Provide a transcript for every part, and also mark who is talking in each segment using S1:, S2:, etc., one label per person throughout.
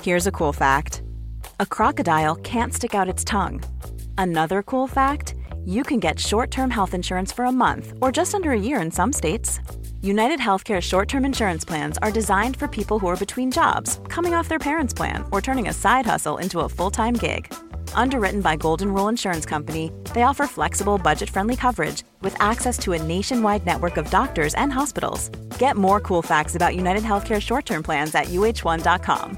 S1: Here's a cool fact. A crocodile can't stick out its tongue. Another cool fact, you can get short-term health insurance for a month or just under a year in some states. United Healthcare short-term insurance plans are designed for people who are between jobs, coming off their parents' plan, or turning a side hustle into a full-time gig. Underwritten by Golden Rule Insurance Company, they offer flexible, budget-friendly coverage with access to a nationwide network of doctors and hospitals. Get more cool facts about United Healthcare short-term plans at uh1.com.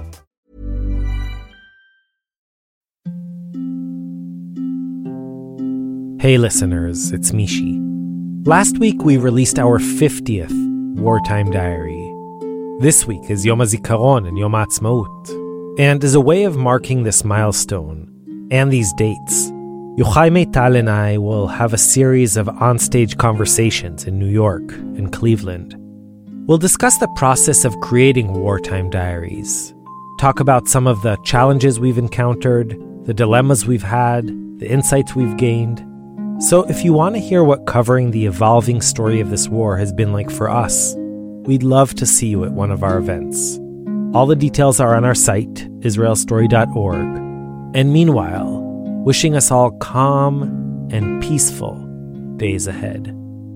S2: Hey listeners, it's Mishi. Last week we released our 50th Wartime Diary. This week is Yom HaZikaron and Yom HaAtzmaut. And as a way of marking this milestone and these dates, Yochai Meital and I will have a series of onstage conversations in New York and Cleveland. We'll discuss the process of creating Wartime Diaries, talk about some of the challenges we've encountered, the dilemmas we've had, the insights we've gained. So if you want to hear what covering the evolving story of this war has been like for us, we'd love to see you at one of our events. All the details are on our site, israelstory.org. And meanwhile, wishing us all calm and peaceful days ahead.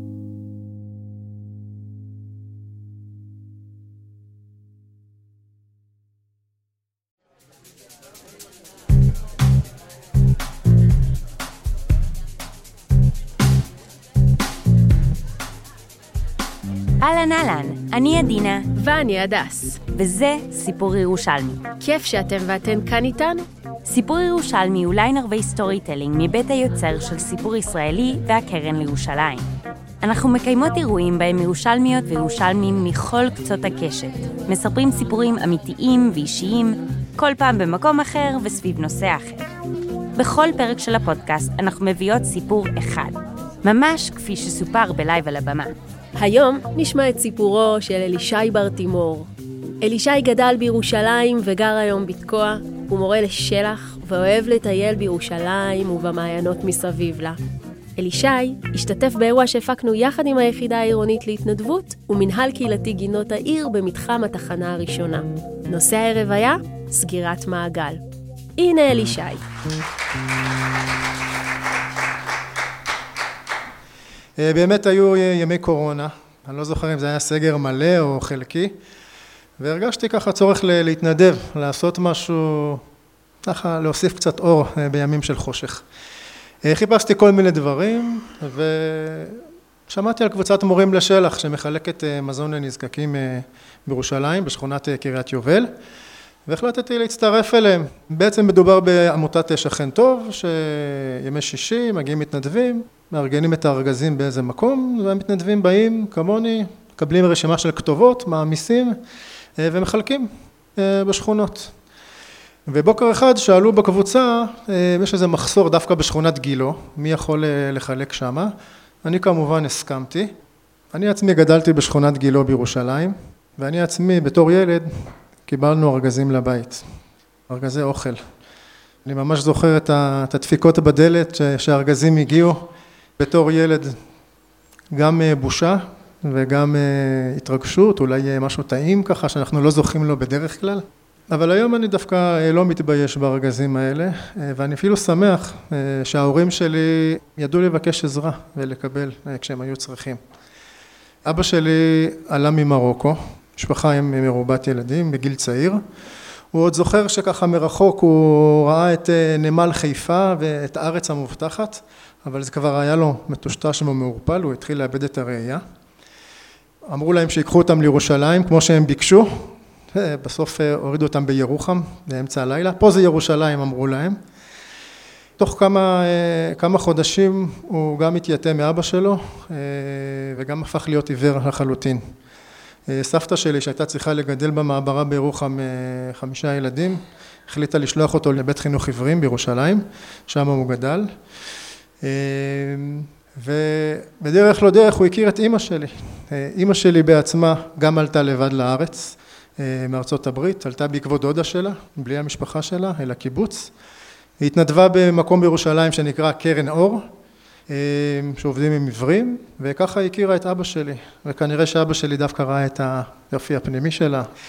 S3: אהלן אהלן, אני עדינה.
S4: ואני הדס.
S3: וזה סיפור ירושלמי.
S4: כיף שאתם ואתן כאן איתנו.
S3: סיפור ירושלמי הוא ליין ערבי סטורי טלינג מבית היוצר של סיפור ישראלי והקרן לירושלים. אנחנו מקיימות אירועים בהם ירושלמיות וירושלמים מכל קצות הקשת. מספרים סיפורים אמיתיים ואישיים, כל פעם במקום אחר וסביב נושא אחר. בכל פרק של הפודקאסט אנחנו מביאות סיפור אחד, ממש כפי שסופר בלייב על הבמה.
S4: היום נשמע את סיפורו של אלישי בר תימור. אלישי גדל בירושלים וגר היום בתקוע, הוא מורה לשלח ואוהב לטייל בירושלים ובמעיינות מסביב לה. אלישי השתתף באירוע שהפקנו יחד עם היחידה העירונית להתנדבות ומנהל קהילתי גינות העיר במתחם התחנה הראשונה. נושא הערב היה סגירת מעגל. הנה אלישי.
S5: באמת היו ימי קורונה, אני לא זוכר אם זה היה סגר מלא או חלקי, והרגשתי ככה צורך להתנדב, לעשות משהו, ככה להוסיף קצת אור בימים של חושך. חיפשתי כל מיני דברים, ושמעתי על קבוצת מורים לשלח שמחלקת מזון לנזקקים בירושלים, בשכונת קריית יובל, והחלטתי להצטרף אליהם. בעצם מדובר בעמותת שכן טוב, שימי שישי מגיעים מתנדבים, מארגנים את הארגזים באיזה מקום, והמתנדבים באים כמוני, מקבלים רשימה של כתובות, מעמיסים ומחלקים בשכונות. ובוקר אחד שאלו בקבוצה, יש איזה מחסור דווקא בשכונת גילו, מי יכול לחלק שמה? אני כמובן הסכמתי. אני עצמי גדלתי בשכונת גילו בירושלים, ואני עצמי בתור ילד קיבלנו ארגזים לבית, ארגזי אוכל. אני ממש זוכר את הדפיקות בדלת שהארגזים הגיעו. בתור ילד גם בושה וגם התרגשות, אולי משהו טעים ככה שאנחנו לא זוכים לו בדרך כלל. אבל היום אני דווקא לא מתבייש בארגזים האלה, ואני אפילו שמח שההורים שלי ידעו לבקש עזרה ולקבל כשהם היו צריכים. אבא שלי עלה ממרוקו, משפחה עם מרובת ילדים בגיל צעיר. הוא עוד זוכר שככה מרחוק הוא ראה את נמל חיפה ואת הארץ המובטחת, אבל זה כבר היה לו מטושטש ומעורפל, הוא התחיל לאבד את הראייה. אמרו להם שיקחו אותם לירושלים כמו שהם ביקשו, בסוף הורידו אותם בירוחם באמצע הלילה, פה זה ירושלים אמרו להם. תוך כמה חודשים הוא גם התייתם מאבא שלו וגם הפך להיות עיוור לחלוטין. סבתא שלי שהייתה צריכה לגדל במעברה בירוחם 5 ילדים, החליטה לשלוח אותו לבית חינוך עיוורים בירושלים, שם הוא גדל. ובדרך לא דרך הוא הכיר את אמא שלי. אמא שלי בעצמה גם עלתה לבד לארץ מארצות הברית, עלתה בעקבות דודה שלה, בלי המשפחה שלה, אל הקיבוץ. היא התנדבה במקום בירושלים שנקרא קרן אור, שעובדים עם עיוורים, וככה הכירה את אבא שלי, וכנראה שאבא שלי דווקא ראה את היופי הפנימי שלה,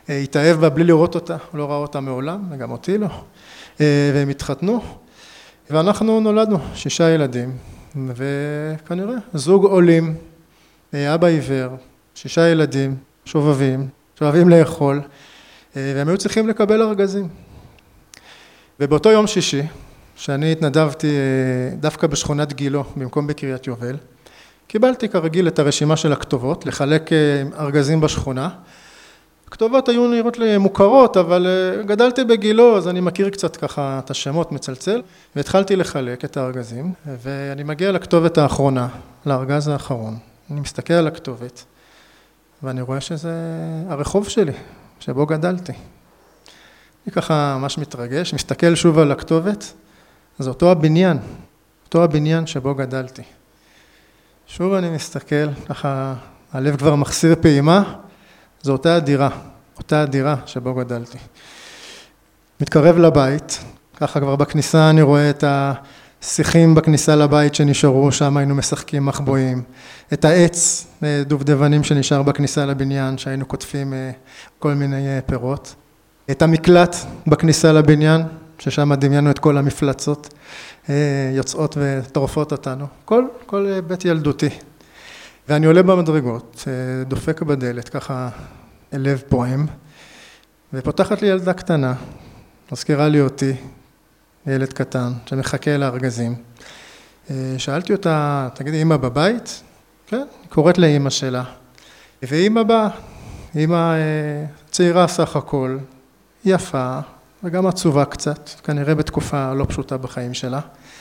S5: התאהב בה בלי לראות אותה, לא ראה אותה מעולם, וגם אותי לא, והם התחתנו, ואנחנו נולדנו 6 ילדים, וכנראה זוג עולים, אבא עיוור, 6 ילדים, שובבים, שאוהבים לאכול, והם היו צריכים לקבל ארגזים. ובאותו יום שישי, שאני התנדבתי דווקא בשכונת גילו, במקום בקריית יובל, קיבלתי כרגיל את הרשימה של הכתובות, לחלק ארגזים בשכונה. הכתובות היו נראות לי מוכרות, אבל גדלתי בגילו, אז אני מכיר קצת ככה את השמות מצלצל, והתחלתי לחלק את הארגזים, ואני מגיע לכתובת האחרונה, לארגז האחרון. אני מסתכל על הכתובת, ואני רואה שזה הרחוב שלי, שבו גדלתי. אני ככה ממש מתרגש, מסתכל שוב על הכתובת, זה אותו הבניין שבו גדלתי. שוב אני מסתכל, ככה הלב כבר מחסיר פעימה, זו אותה הדירה שבו גדלתי. מתקרב לבית, ככה כבר בכניסה אני רואה את השיחים בכניסה לבית שנשארו, שם היינו משחקים מחבואים, את העץ, דובדבנים שנשאר בכניסה לבניין, שהיינו קוטפים כל מיני פירות, את המקלט בכניסה לבניין, ששם דמיינו את כל המפלצות, יוצאות וטורפות אותנו, כל בית ילדותי. ואני עולה במדרגות, דופק בדלת, ככה לב פועם, ופותחת לי ילדה קטנה, מזכירה לי אותי, ילד קטן, שמחכה לארגזים. שאלתי אותה, תגידי, אמא בבית? כן, היא קוראת לאמא שלה. ואמא באה, אמא צעירה סך הכל, יפה, וגם עצובה קצת, כנראה בתקופה לא פשוטה בחיים שלה.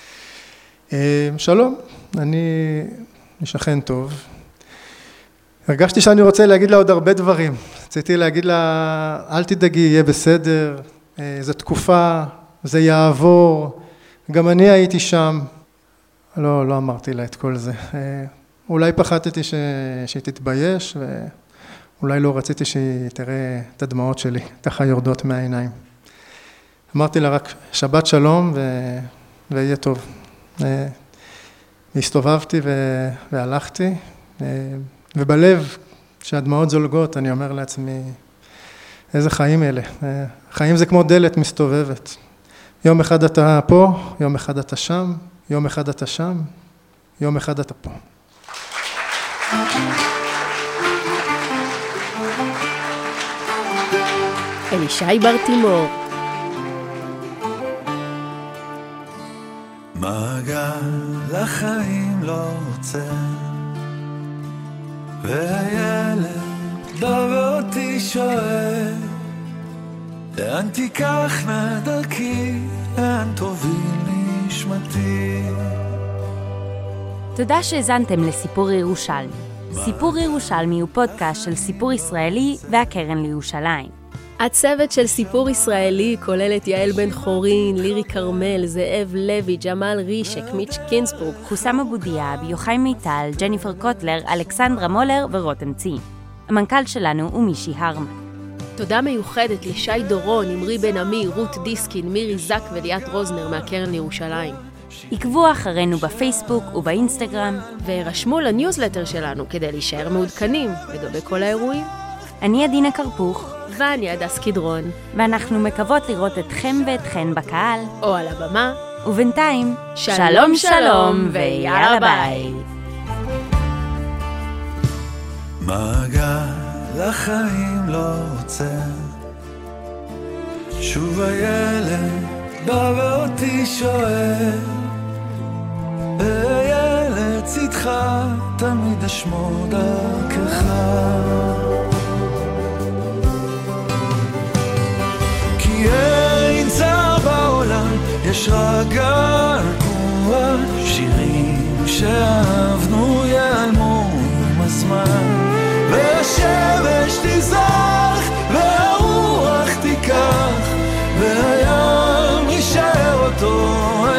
S5: שלום, אני שכן טוב. הרגשתי שאני רוצה להגיד לה עוד הרבה דברים. רציתי להגיד לה, אל תדאגי, יהיה בסדר, זו תקופה, זה יעבור, גם אני הייתי שם. לא אמרתי לה את כל זה. אולי פחדתי שהיא תתבייש, ואולי לא רציתי שהיא תראה את הדמעות שלי, ככה יורדות מהעיניים. אמרתי לה רק שבת שלום ויהיה טוב. הסתובבתי והלכתי, ובלב שהדמעות זולגות, אני אומר לעצמי, איזה חיים אלה. חיים זה כמו דלת מסתובבת. יום אחד אתה פה, יום אחד אתה שם, יום אחד אתה שם, יום אחד אתה פה.
S4: אלישי בר-תימור.
S6: מעגל החיים לא עוצר, והילד בא ואותי שואל, לאן תיקחנה דרכי, לאן תוביל נשמתי.
S3: תודה שהזנתם לסיפור ירושלמי. סיפור ירושלמי הוא פודקאסט של סיפור ישראלי והקרן לירושלים.
S4: הצוות של סיפור ישראלי כולל את יעל בן חורין, לירי קרמל, זאב לוי, ג'מאל רישק, מיץ' קינסבורג,
S3: חוסם אבו דיאב, יוחאי מיטל, ג'ניפר קוטלר, אלכסנדרה מולר ורותם צי. המנכ"ל שלנו הוא מישי הרמן.
S4: תודה מיוחדת לשי דורון, אמרי בן עמי, רות דיסקין, מירי זק וליאת רוזנר מהקרן לירושלים.
S3: עקבו אחרינו בפייסבוק ובאינסטגרם,
S4: ורשמו לניוזלטר שלנו כדי להישאר מעודכנים לגבי כל האירועים.
S3: אני עדינה קרפוך,
S4: ואני הדס קדרון,
S3: ואנחנו מקוות לראות אתכם ואתכן בקהל
S4: או על הבמה,
S3: ובינתיים שלום שלום ויאללה ביי.
S6: מעגל החיים לא עוצר, שוב הילד בא ואותי שואל, וילד צדך תמיד אשמור דרכך. כי אין צער בעולם, יש רק געגוע, שירים שאהבנו ייעלמו עם הזמן, והשמש תזרח והרוח תיקח, והים יישאר אותו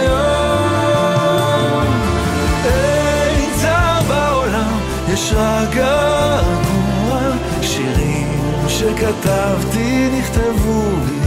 S6: היום. אין צער בעולם, יש רק געגוע, שירים שכתבתי נכתבו לי